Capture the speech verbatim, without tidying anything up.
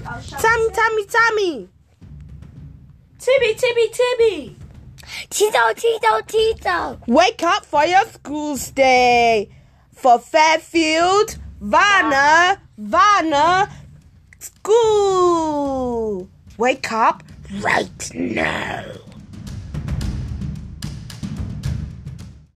Tammy, Tammy, Tammy. Tibby, Tibby, Tibby. Tito, Tito, Tito. Wake up for your school's day. For Fairfield, Vanna, Vanna, school. Wake up right now.